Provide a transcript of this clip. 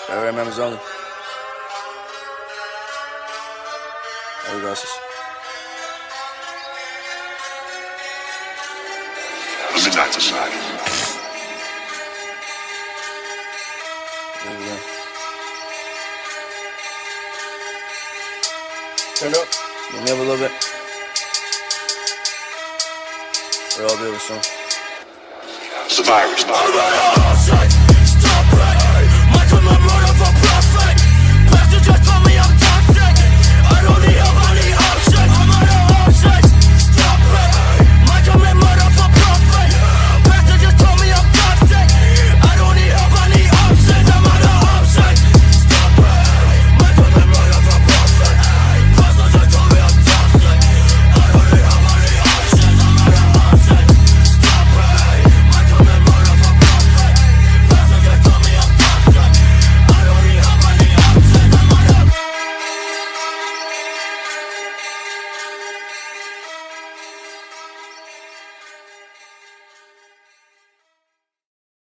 Area members only. There we go, sis. Midnight Society. There we go. Turn up. Move me up a little bit. We'll all be able to soon. Survivors.